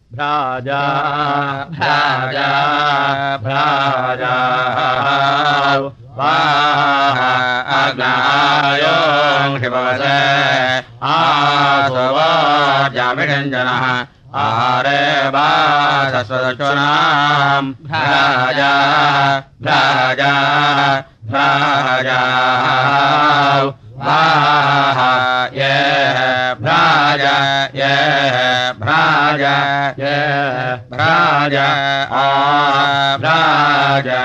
भ्राजा भ्राजा भ्राजा अग्नायों शिवसे आसुवाजामिषञ्जनः आहारे वासस्वदचुनां भ्राजा भ्राजा भ्राजा ये भ्राजा ये भ्राजा ये भ्राजा भ्राजा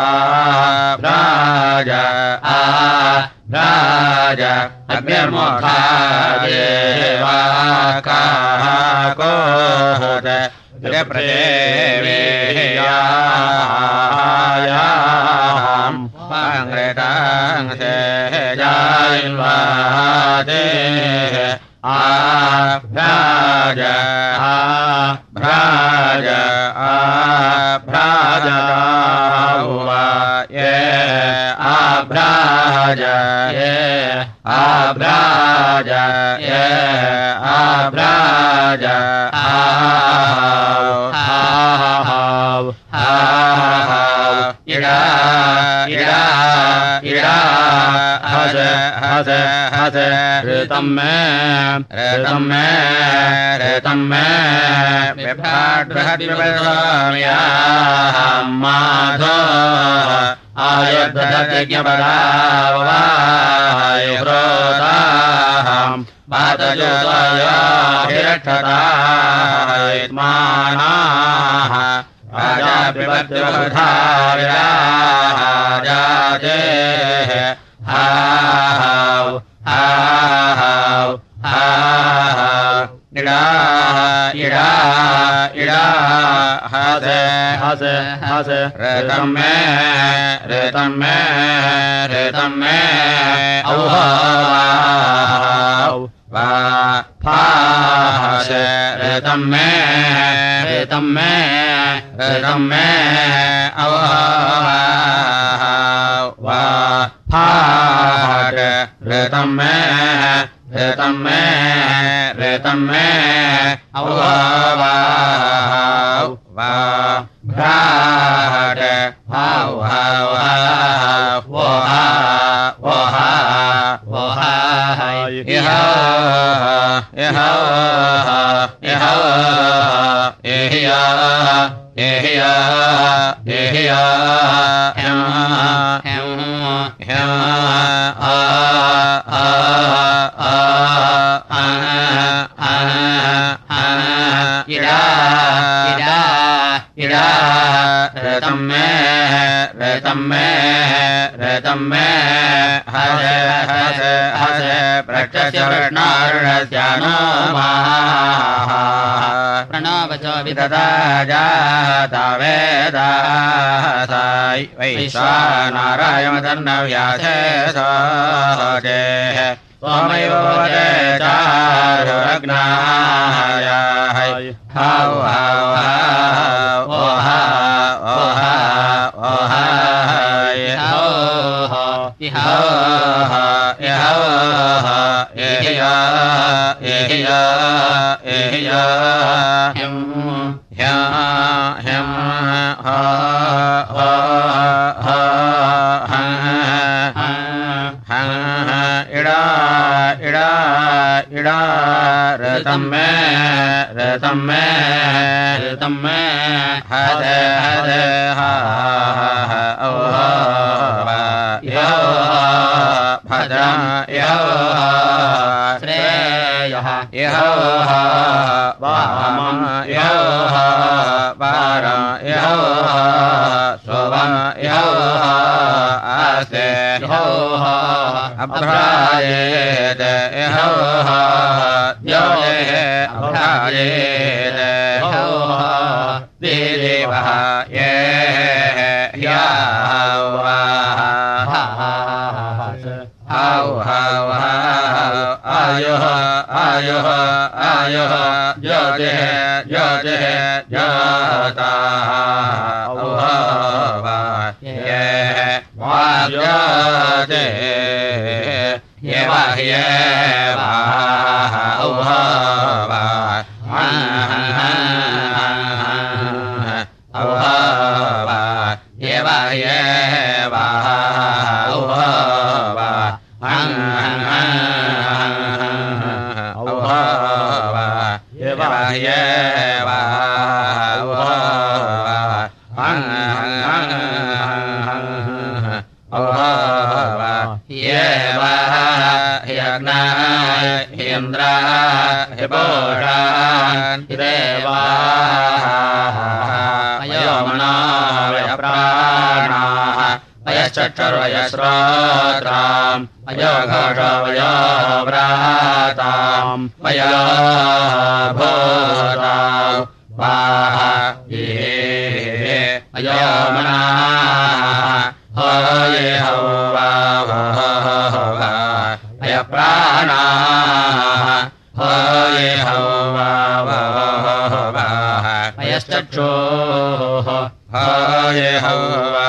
भ्राजा भ्राजा अग्निर्मुखा देवाकाकोहत प्रदेवेयायां पाङ्ग्रेतां सेजायिन्वादे भ्राजा भ्राजा भ्राजा ये भ्राजा ये भ्राजा ये भ्राजा इड़ा इड़ा इड़ा हस हस हस ऋतम में विभ्राट बृहद विभ्राम्या माधो आयुर्दधज्ञपदावायुव्रोताहं पातजोतयाभिरक्षतायत्मानाः राजा विभक्तिवधार्याजाते हाव हाव हाव इड़ा इड़ा इड़ा हस हस हस ऋतम में औहाव वा फास ऋतम में औहाव वा फाट ऋतम में औहाव वा भ्राट हाव हाव हाव वो हा इह रतम में हस प्रक्षस्य कृष्णारुणस्यानो प्रणवचो विदधा जाता वेदासाय वैश्वानरायमदर्नव्यासे सोजेः त्वमेव वदे चारुरग्नाय हाव हाव हाव रतम में हद हा भद्रं श्रेयः वामं वारं शोभं आस्ते अभ्राजेत अभ्राजेत देवः ये आयुः ज्योतिः जाता ये वाज्योते ये वाह्ये औहवा येवा येवा औहवा हं औहवा येवा येवा औहवा हं औहवा येवा यज्ञाय इन्द्रा हिपोषान् देवाः अयोमना वयप्राणाः वयश्चक्षुर्वयश्रोत्राम् वयोघोषवयोव्राताम् वयोभूताम् वाह ये अयोमनाः होये हौवा अयप्राणाः होये हौवा वयश्चक्षुः होये हौवा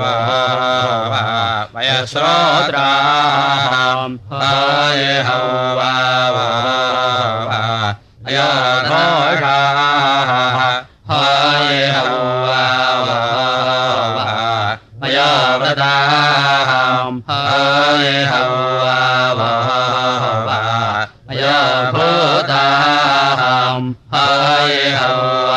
वयश्रोत्राम् होये हौवा अयोघोषाः होये हौवा अयोव्रताम् होये हौवा अयोभूताम् होये हौवा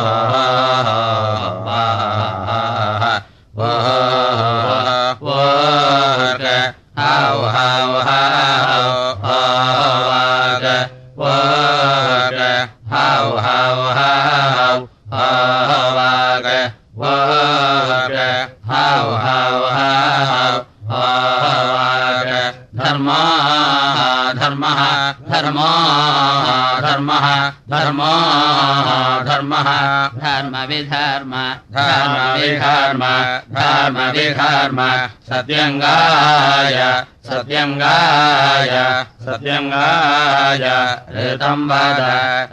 धर्मविधर्म सत्यंगाय ऋतं वद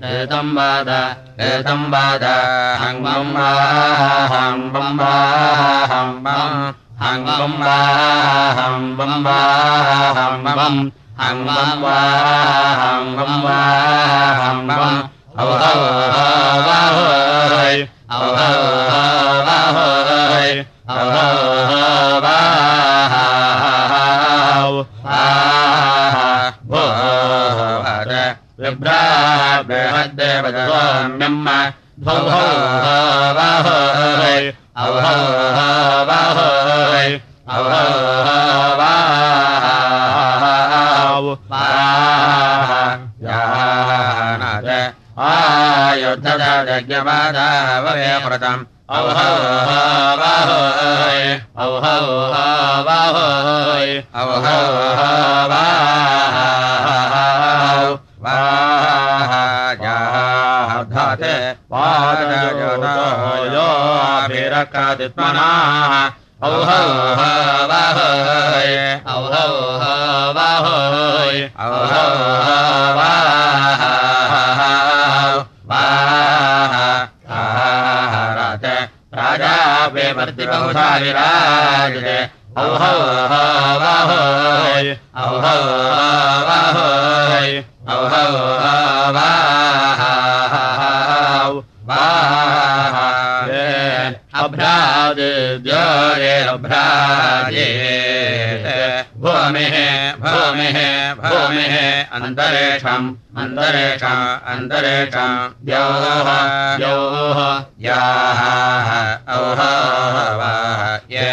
हं आयुद्धदज्ञमादाववेकृतम् विराजते अभ्राजे भूमिः अन्तरिक्षम् द्योः याः औहवा ये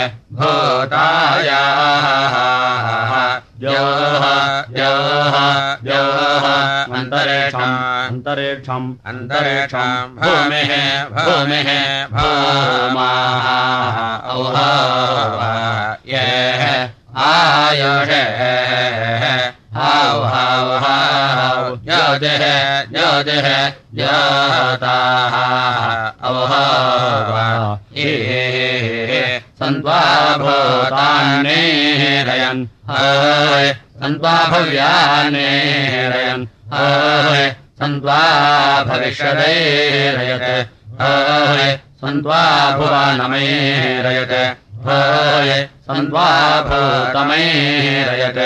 भूतायाः द्योः अन्तरिक्षम् भूमिः भूमाः औहवा ये आयुषे ज्योतिः ज्योताः औहवा ये सन्त्वा भूतान्नेरयन् सन्त्वा भव्यान्नेरयन् सन्त्वा भविष्यदैरयत् सन्त्वा भुवनमैरयत् सन्त्वा भूतमैरयत्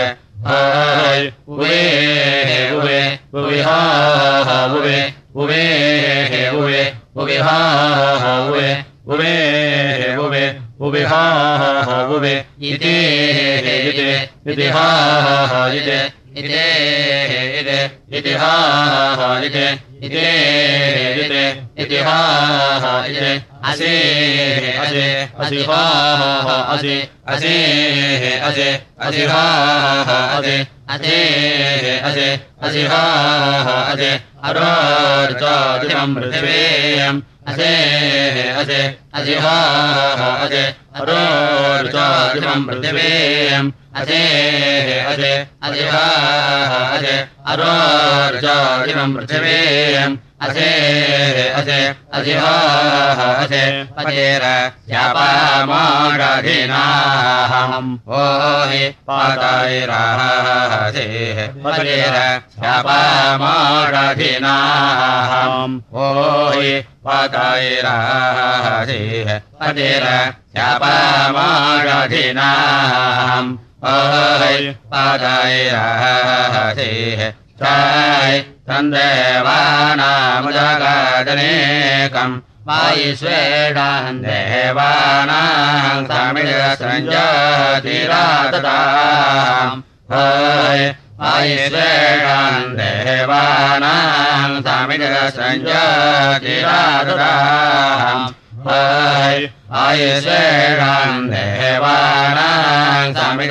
उविहा उवे उवे उवे उविहा उवे इति इति हा इति इति इति हा इति इति इति हा इति असि असि असि हा असि असि असि असि हा असि असि असि असि हा असि अरोर्चादिमं पृथिवीम् असि असि असि हा असि अरोर्चादिमं पृथिवीम् असि असि असि हा असि अरोर्चादिमं पृथिवीम् असि असि असि हा असि पतेर शापामाराधिनाहम् ओ हि पातैरासे पतेर शापामाराधिनाहम् ओ हि पातैरासे पतेर शापामाराधिनाहम् ओ हि पातैरासे चाय तन्देवानामुदगादनेकम् वायुस्वेदान् देवानां समिदसञ्जातिरातताम् वायुस्वेदान् देवानां समिदसञ्जातिरातताम् आयुस्वेदान् देवानां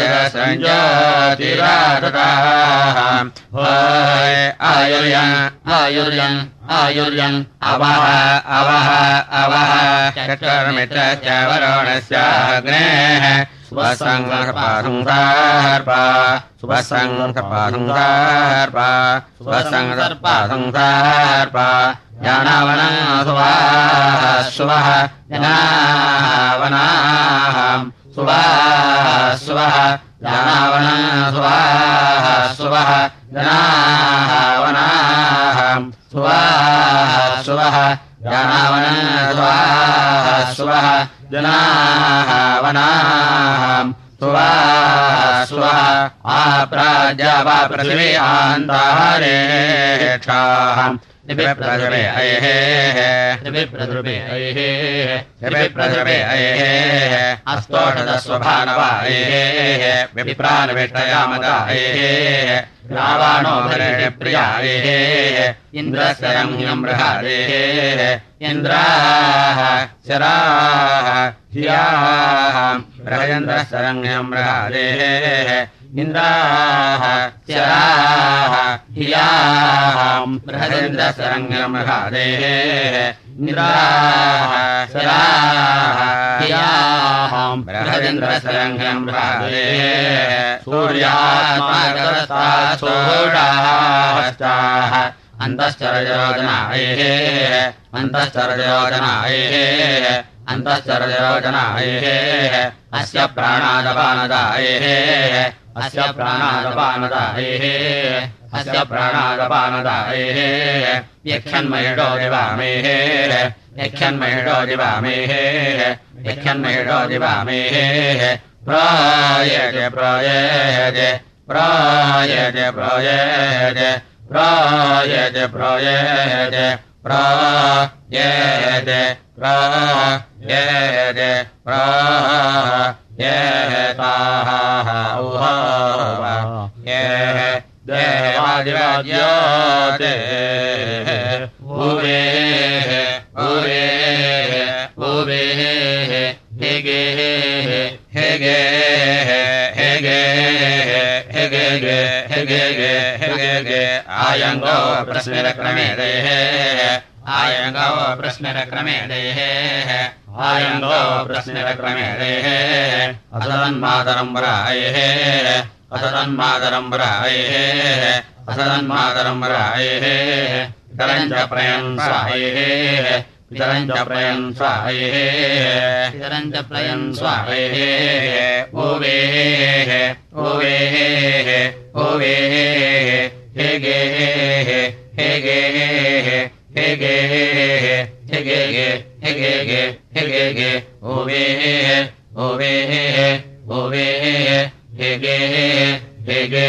समिदसञ्जातिरातताम् आयुर्यन् आयुर्यन् आयुर्यन् अवः अवः अवः चक्षुर्मित्रस्य वरुणस्याग्नेः स्वसङ्गर्पासंसार्पा स्वसङ्गर्पासंसार्पा स्वसङ्गर्पासंसार्पा जानवनं सुवाः सुवः जनावनाहं सुवाः सुवः जानवनं सुवाः सुवः जनावनाहं सुवाः सुवः जानवनं सुवाः सुवः जनावनाहं सुवाः सुवः आप्राज्यवा पृथिवी आन्तारेक्षाहम् निबिप्रद्रुवे अयेः अस्तोषदस्वभानवा अयेः विप्रानविष्टयामदा अयेः रावाणो भरेण प्रिया अयेः इन्द्रस्य रम्यं बृहदेः इन्द्राः शराः धियाः बृहयन्द्रस्य रम्यं बृहदेः इन्द्राः शराः धियाः बृहदेन्द्रस्य बृहदेः इन्द्राः शराः धियाः बृहदेन्द्रस्य बृहदेः सूर्यात्माकरस्ताच्छोषाश्चाः अन्तश्चरयोजनायः अन्तश्चरयोजनायः अन्तश्चरयोजनायः अस्य प्राणादपानदायः अस्य प्राणादपानदायः अस्य प्राणादपानदायः यक्षन्महिषो दिवामेः यक्षन्महिषो दिवामेः यक्षन्महिषो दिवामेः प्रायते प्रायते प्रायते प्रायते प्रायते प्रायते प्रायते प्रायते प्रायेताः उहावा ये देवादिवाद्योते उवेः उवेः उवेः हेगे हेगे हेगे हेगे हेगे हेगे आयङ्गो प्रश्नरक्रमेदेः आयङ्गो प्रश्नरक्रमेदेः आयङ्गो प्रश्नरक्रमेदेः असदन्मातरम्बरायः असदन्मातरम्बरायः असदन्मातरम्बरायः पितरञ्च प्रयन् स्वायः पितरञ्च प्रयन् स्वायः पितरञ्च प्रयन् स्वायः ओवेः ओवेः ओवेः हेगे हेगे हेगे हेगे हेगे हेगे ओवेः ओवेः ओवेः हेगे हेगे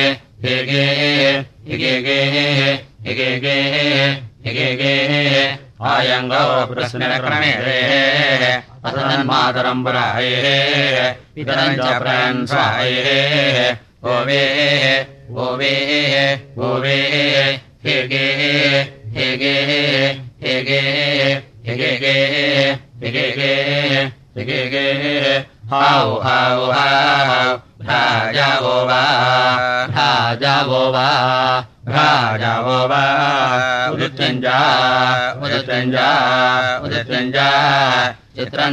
हेगे हेगे हेगे हेगे आयङ्गो प्रस्मिनक्रमेः असन्मातरम् पुरायेः पितरम् च प्रयन्स्वायेः ओवेः ओवेः ओवेः हेगेः हेगेः हेगेः हेगेः हेगेः हेगेः हाउ हाउ हाउ भ्राजावो वा भ्राजावो वा भ्राजावो वा उदित्यञ्जा उदित्यञ्जा उदित्यञ्जा चित्रम्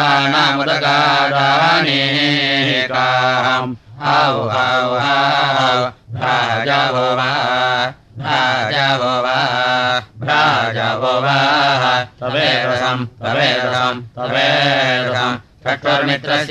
देवानामुदगादानेकाम् हाउ हाउ हाउ भ्राजावो वा भ्राजावो वा भ्राजावो वा तवेदसम् तवेदसम् तवेदसम् चक्षुर्मित्रस्य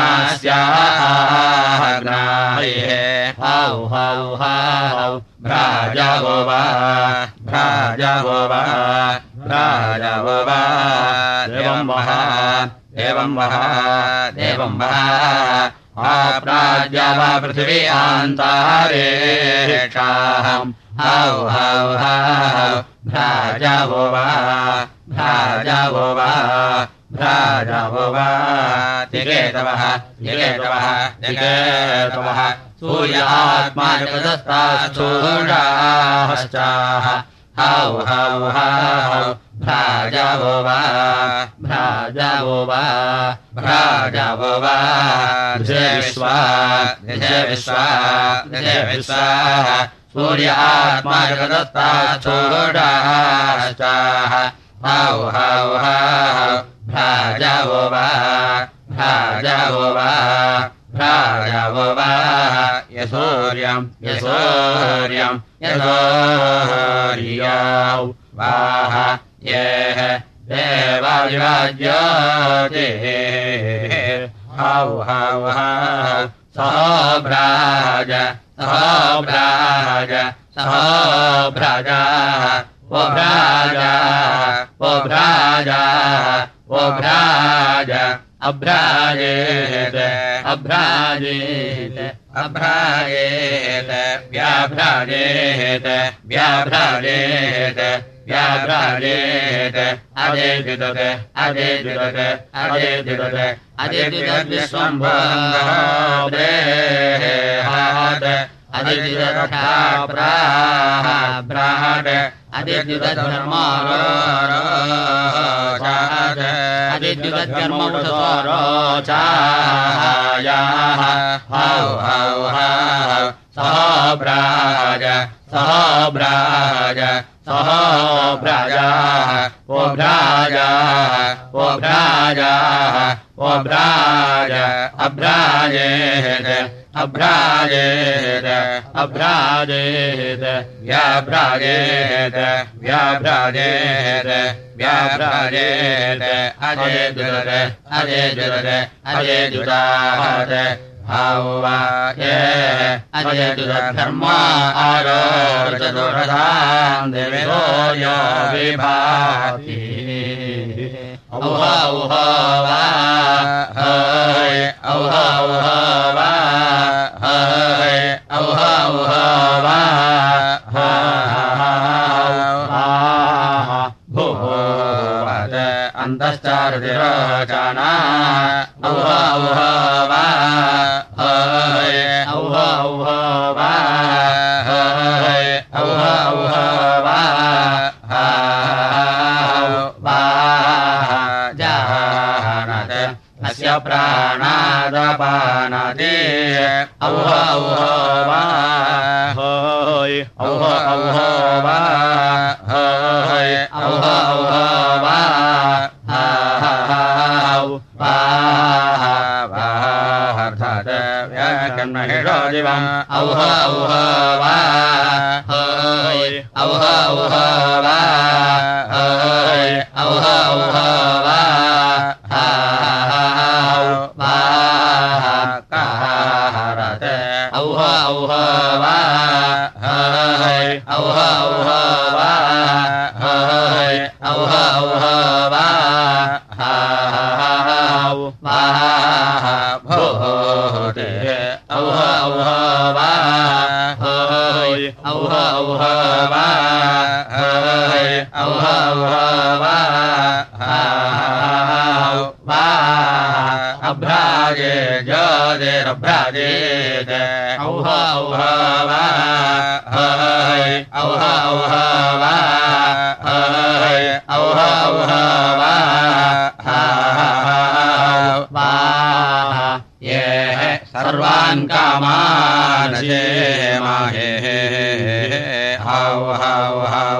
वरुणास्याग्नायः हाउ हाउ हाउ भ्राजावो वा भ्राजावो वा भ्राजावो वा देवं वः देवं वः देवं वः आप्राज्या वा पृथिवी आन्तारेक्षाहम् हाउ हाउ हाउ भ्राजावो वा भ्राजावो वा भ्राजावो वा तिकेतवः तिकेतवः तिकेतवः सूर्य आत्मा जगदस्तास्थूषाश्चाः हाउ हाउ हाउ भ्राजावो वा भ्राजावो वा भ्राजावो वा दिशे विश्वा दिशे विश्वा दिशे विश्वा सूर्य आत्मा जगदस्तास्थूषाश्चाः हाउ हाउ हाउ भ्राजावो वा भ्राजावो वा भ्राजावो वा यसूर्यम् यसूर्यम् यसूर्यौ वाह येः देवादिराज्योतिः हाउ हाउ हाउ सहभ्राज सहभ्राज सहभ्राजा वो भ्राजा वो भ्राजा वो भ्राज अभ्राजेत अभ्राजेत अभ्राजेत व्याभ्राजेत व्याभ्राजेत व्याभ्राजेत अजेद्युदत अजेद्युदत अजेद्युदत अजेद्युदत विश्वम्भो देहात् अजेद्युदथा प्राहात् अदिद्युतधर्मारोचात् अदिद्युतकर्मवृतरोचायाः हाउ हाउ हाउ सहभ्राज सहभ्राज सहभ्राजाः वो भ्राजाः वो भ्राजाः वो भ्राज अभ्राजेत अभ्राजेत अभ्राजेत व्याभ्राजेत व्याभ्राजेत व्याभ्राजेत अजेद्युदत अजेद्युदत अजेद्युदात् हाउ वा येः अजेद्युदद्धर्मा आरोचतुरथाम् देवो यो विभाति औहा औहा वा हय औहा औहा वा हय औहा औहा वा भूवत् अन्तश्चारुतिरोचना औहा औहा वा हय औहा औहा वा हय औहा औहा वा अस्य प्राणादपानाति औहा औहा वा हय औहा औहा वा हय औहा औहा वा अर्थात् व्याकर्महेषो दिवम् औहा औहा वा हय औहा औहा वा हय औहा औहा वा औहा औहा वा हय औहा औहा वा हय औहा औहा वा भूते औहा औहा वा हय औहा औहा वा हय औहा औहा ज्योतिरभ्राजेत औह औह वा हय औह औह वा हय औह औह वा वा ये सर्वान् कामान् क्षेमाहे हौ हौ हौ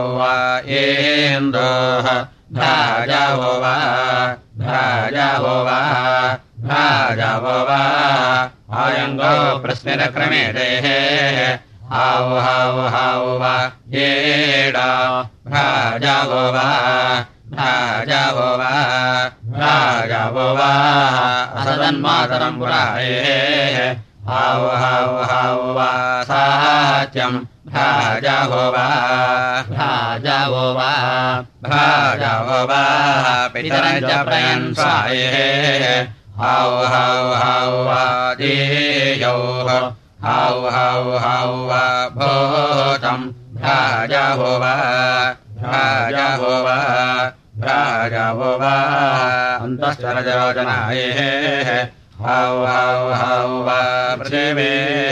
इन्द्रः भ्राजवो वा भ्राजवो वा भ्राजवो वा अयङ्गो प्रस्मिरक्रमेदेः हौ हौ हौ वा येडा भ्राजवो वा भ्राजवो वा भ्राजवो वा असदन्मातरम् पुराये हौ हौ हौ वा सात्यम् भ्राजवो वा भ्राजवो वा भ्राजवो वा पितरञ्च प्रयन्साये हौ हौ हौ वा देयौः हौ हौ हौ वा भूतम् भ्राजवो वा भ्राजवो वा भ्राजवो वा अन्तःचरजरोचनाये हौ हौ हौ वा पृथिवे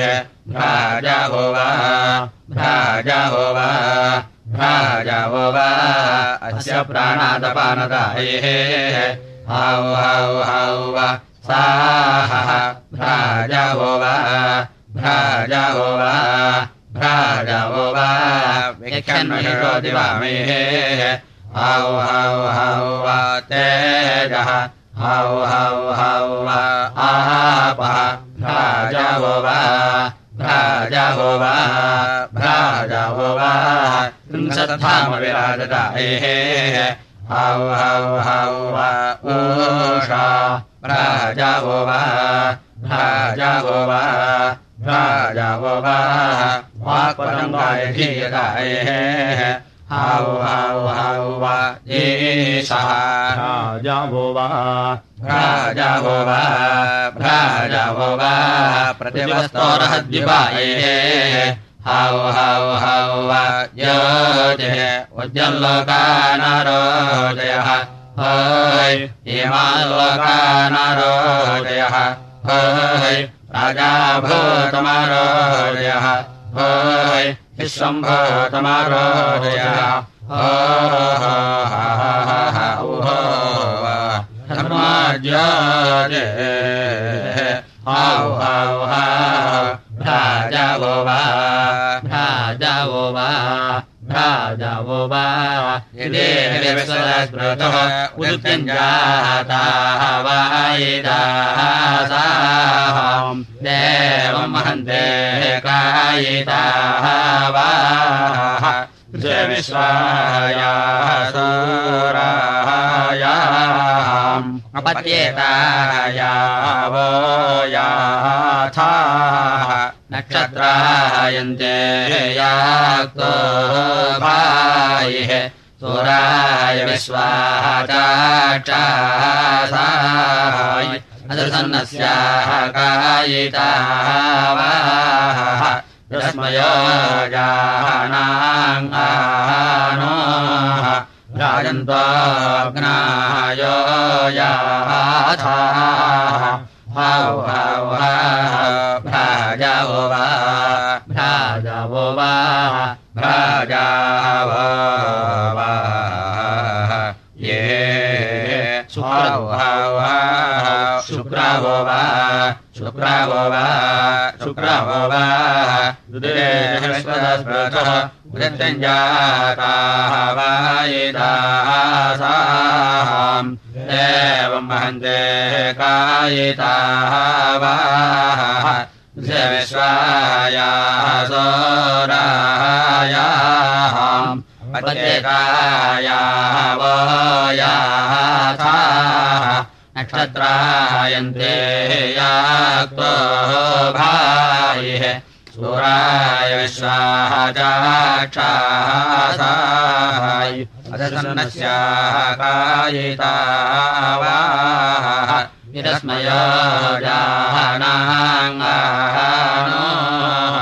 भ्राजवो वा भ्राजवो वा भ्राजवो वा अस्य प्राणादपानदाये हौ हौ हौ वा साहः भ्राजवो वा भ्राजवो वा भ्राजवो वा विक्षन्महिषोति वामेः हौ हौ हौ वा तेजः हौ हौ हौ वा आपः भ्राजवो वा भ्राजवो वा भ्राजवो वा त्रिंशत्थामविराजताये हौ हौ हौ वा ऊषा भ्राजवो वा भ्राजवो वा भ्राजवो वा वाक्पतङ्गाय धीयताये हौ हौ हौ वा ईशः भ्राजवो वा भ्राजवो वा भ्राजवो वा प्रतिवस्तोरहद्विपाये हौ हौ हौ वा ज्योतिः उज्जल्लोकानारोदयः हय इमाल्लोकानारोदयः हय राजाभूतमारोदयः हय विश्वम्भूतमारोदयः धर्माज्योतिः हौ हौ हौ भ्राजवो वा भ्राजवो वा भ्राजवो वा यदेहविश्वस्मृतः उदुत्यञ्जाताः वायिदासाहम् देवम् महन्ते कायिताः वाः विश्वायाः सूरायाम् अपत्येतायावो याथाः नक्षत्रायन्ते याक्तो भायिः सूराय विश्वाः चाक्षासाय अदसन्नस्याः कायिताः वाः रश्मयो जानाङ्गानोः राजन्त्वाग्नायो याथाः हौ हौ हौ भ्राजवो वा भ्राजवो वा भ्राजवो वा ये हौ हौ हौ शुक्रवो वा शुक्रवो वा शुक्रवो वा दुदेशस्पदस्पृतः उदत्यञ्जाताः वायिदासाम् देवम् महन्ते कायिताः वाः विश्वायाः सोरायाम् पत्येतायाः वो याथाः नक्षत्रायन्ते याक्तो भायिः सूराय विश्वाः चाक्षासाय अदसन्नस्याः कायिताः वाः विरस्मयो जानाङ्गानोः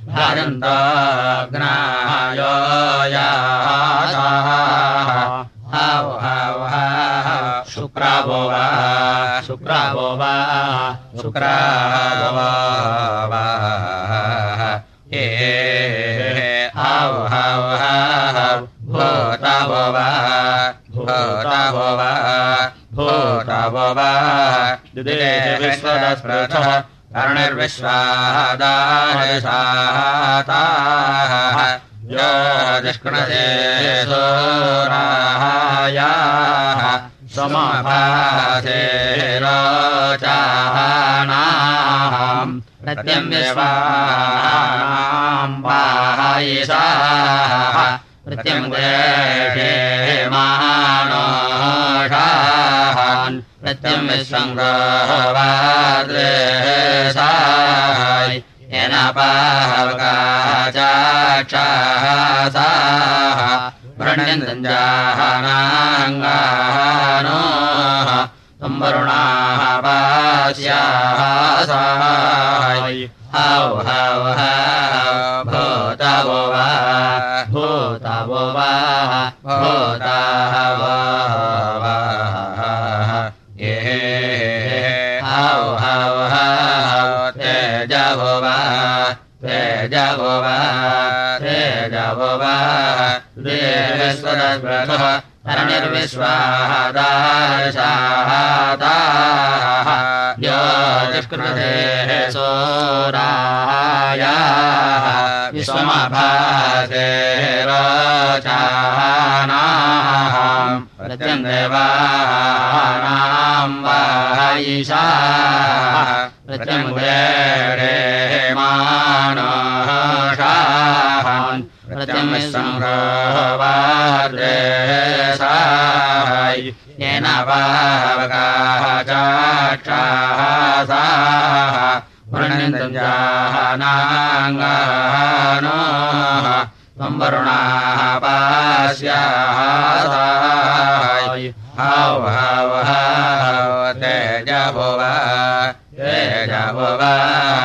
भजन्तग्नायो याथाः हौ हौ हौ शुक्रवो वा शुक्रावो वा शुक्रावो वा हे हाव हाव हाव भूतावो वा भूतावो वा भूतावो वा दिदेः विश्वदस्पृथः कर्णिर्विश्वादायशाताः यो जिष्कृणसे सोरायाः समभासे रोचानाम् प्रत्यम्यवानाम् पायिषाः प्रत्यम्येमानोषान् प्रत्यम्यसङ्गवाद्रेशाय येन पावकाचाक्षासाः वृण्यन्तञ्जानाङ्गानोः संवरुणाः पास्यासाय हाव हाव हाव भूतावो वा भूतावो वा भूतावो वा ये हाव हाव हाव तेजवो वा तेजवो वा तेजवो वा देवस्वरस्वरः कर्णिर्विश्वादाशाताः यो जिष्कृतेः सोरायाः विश्वमभासे रोचानाम् प्रत्यङ्गेवानाम् वायिषाः प्रत्यङ्गेमानोषान् प्रत्यङ्गसंहवाद्रेशाय येन पावकाचाक्षासाः वृण्यन्तञ्जानाङ्गानोः संवरुणाः पास्यासाय हाव हाव हाव तेजवो वा तेजवो वा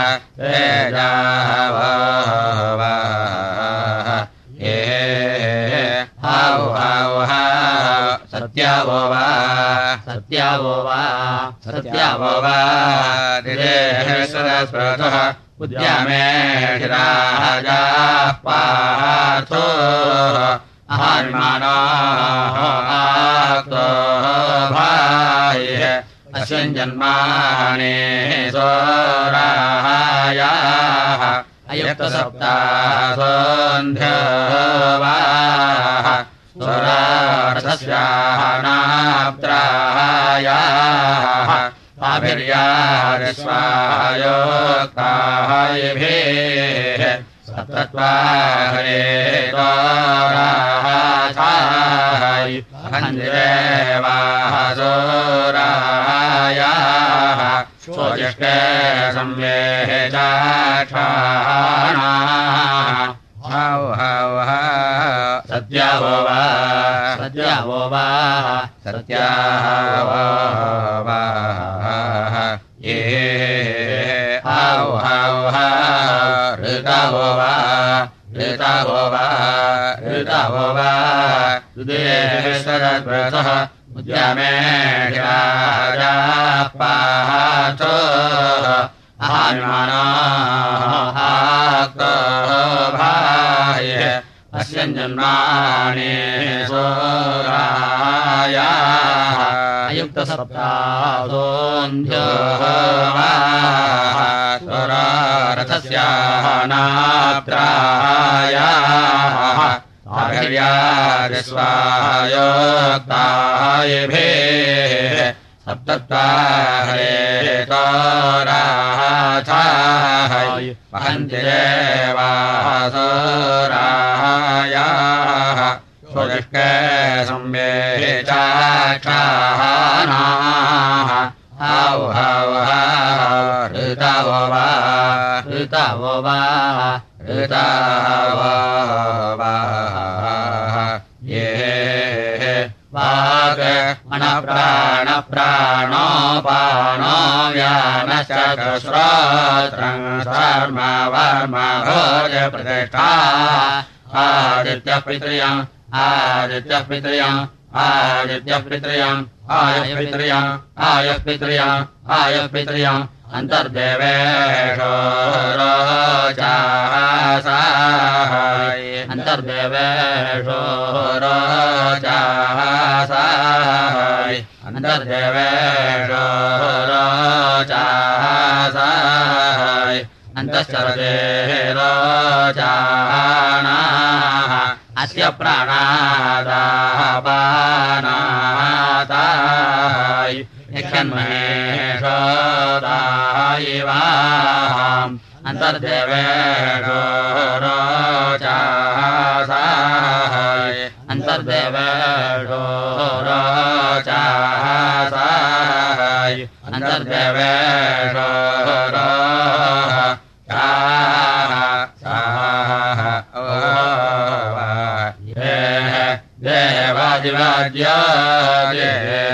तेजवो वा ये हाव हाव हाव सत्यावो वा सत्यावो वा सत्यावो वा दिदेः सरस्वतः उद्यामेधिराजाः पार्थो अहन्मानः आक्तो भायः अस्मिन्जन्माने सोरायाः अयुक्तसप्तासोऽन्ध्यवाः सोरार्थस्याः नाप्त्रायाः आभिर्यादिस्वायोक्तायिभिः सप्तत्वाहरे तोराहाय हन्दिरेवाः सोरायाः स्वजिष्टे संवेः चाक्षाणाः हाव हाव हाव सत्यावो वा सत्यावो वा सत्यावो वा ये हाव हाव हाव ऋतावो वा ऋतावो वा ऋतावो वा सुदेः सरस्वतः उद्यामेधिराजाः पार्थो अहन्मानः आक्तो भायः अस्मिन्जन्माने सोरायाः अयुक्तसप्तासोऽन्ध्यवाः सोरारथस्याः नाप्त्रायाः आभिर्यादिस्वायोक्तायिभिः सप्तत्वाहरे तोराहाय वहन्ति देवाः सोरायाः स्वजिष्टे संवेः चाक्षाणाः हाव हाव हाव ऋतावो वा ऋतावो वा ऋतावो वा ये वाक् अनप्राणप्राणोपानो व्यानश्चतुश्रोत्रं शर्म वर्म भोजप्रतिष्ठा आदित्यः पितृयम् आदित्यः पितृयाम् आयः पितृयाम् अन्तर्देवेषो रोचासाय अन्तर्देवेषो रोचासाय अन्तर्देवेषो रोचासाय अन्तश्चरते रोचानाः अस्य प्राणादापानाताय यक्षन्महेशोदायिवाम् अन्तर्देवेषो रोचासाय अन्तर्देवेषो रोचासाय अन्तर्देवेषो देवादिवाद्यादे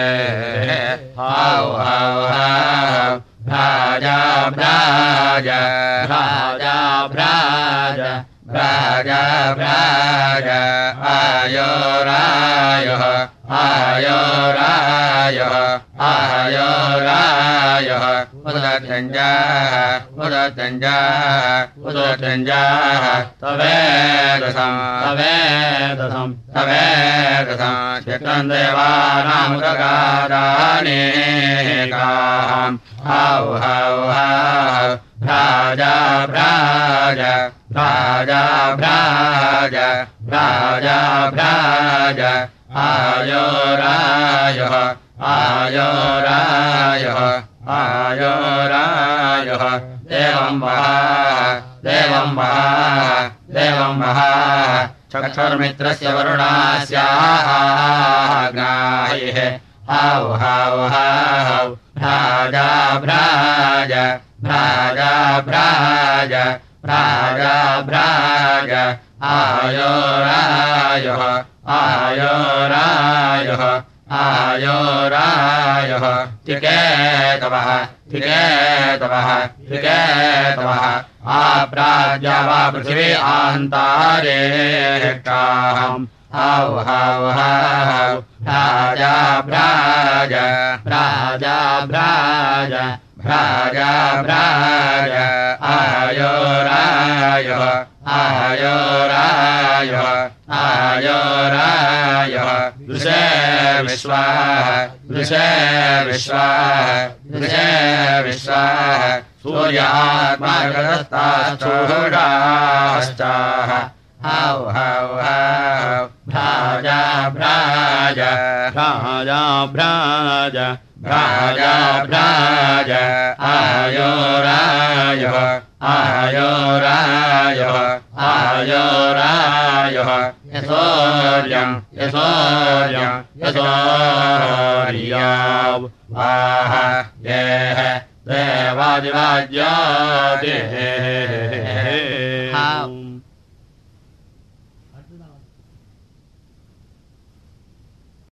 हाउ हाउ हाउ भ्राजा भ्राजा भ्राजा भ्राजा भ्राजा भ्राजा आयो रायो आयो रायो आयो रायो उदतञ्जाः उदतञ्जाः उदतञ्जाः तवेदसं तवेदसं तवेदसं चित्रं देवानामुदगादानेकाम् हाउ हाउ हाउ भ्राजा भ्राजा भ्राजा भ्राजा भ्राजा भ्राजा आयो रायो आयो रायो आयो रायो देवं वहा चक्षुर्मित्रस्य वरुणास्याग्नायः हाउ हाउ हाउ भ्राजा भ्राजा भ्राजा भ्राजा भ्राजा भ्राजा आयो रायो आयो रायो आयो रायो टिकेतवः टिकेतवः टिकेतवः आप्राज्या वा पृथिवी आन्तारेकाहम् हाउ हाउ हाउ भ्राजा भ्राजा भ्राजा भ्राजा भ्राजा भ्राजा आयो रायो आयो रायो आयो रायो दृशे विश्वाः दृशे विश्वाः दृशे विश्वाः सूर्यात्मागतस्ताश्चूडाश्चाः हाउ हाउ हाउ भ्राजा भ्राजा भ्राजा भ्राजा भ्राजा भ्राजा आयो रायो आयो रायो आयो रायो यशोर्यम् यशोर्यम् यशोर्याव वाह येह देवादिवाद्यादेः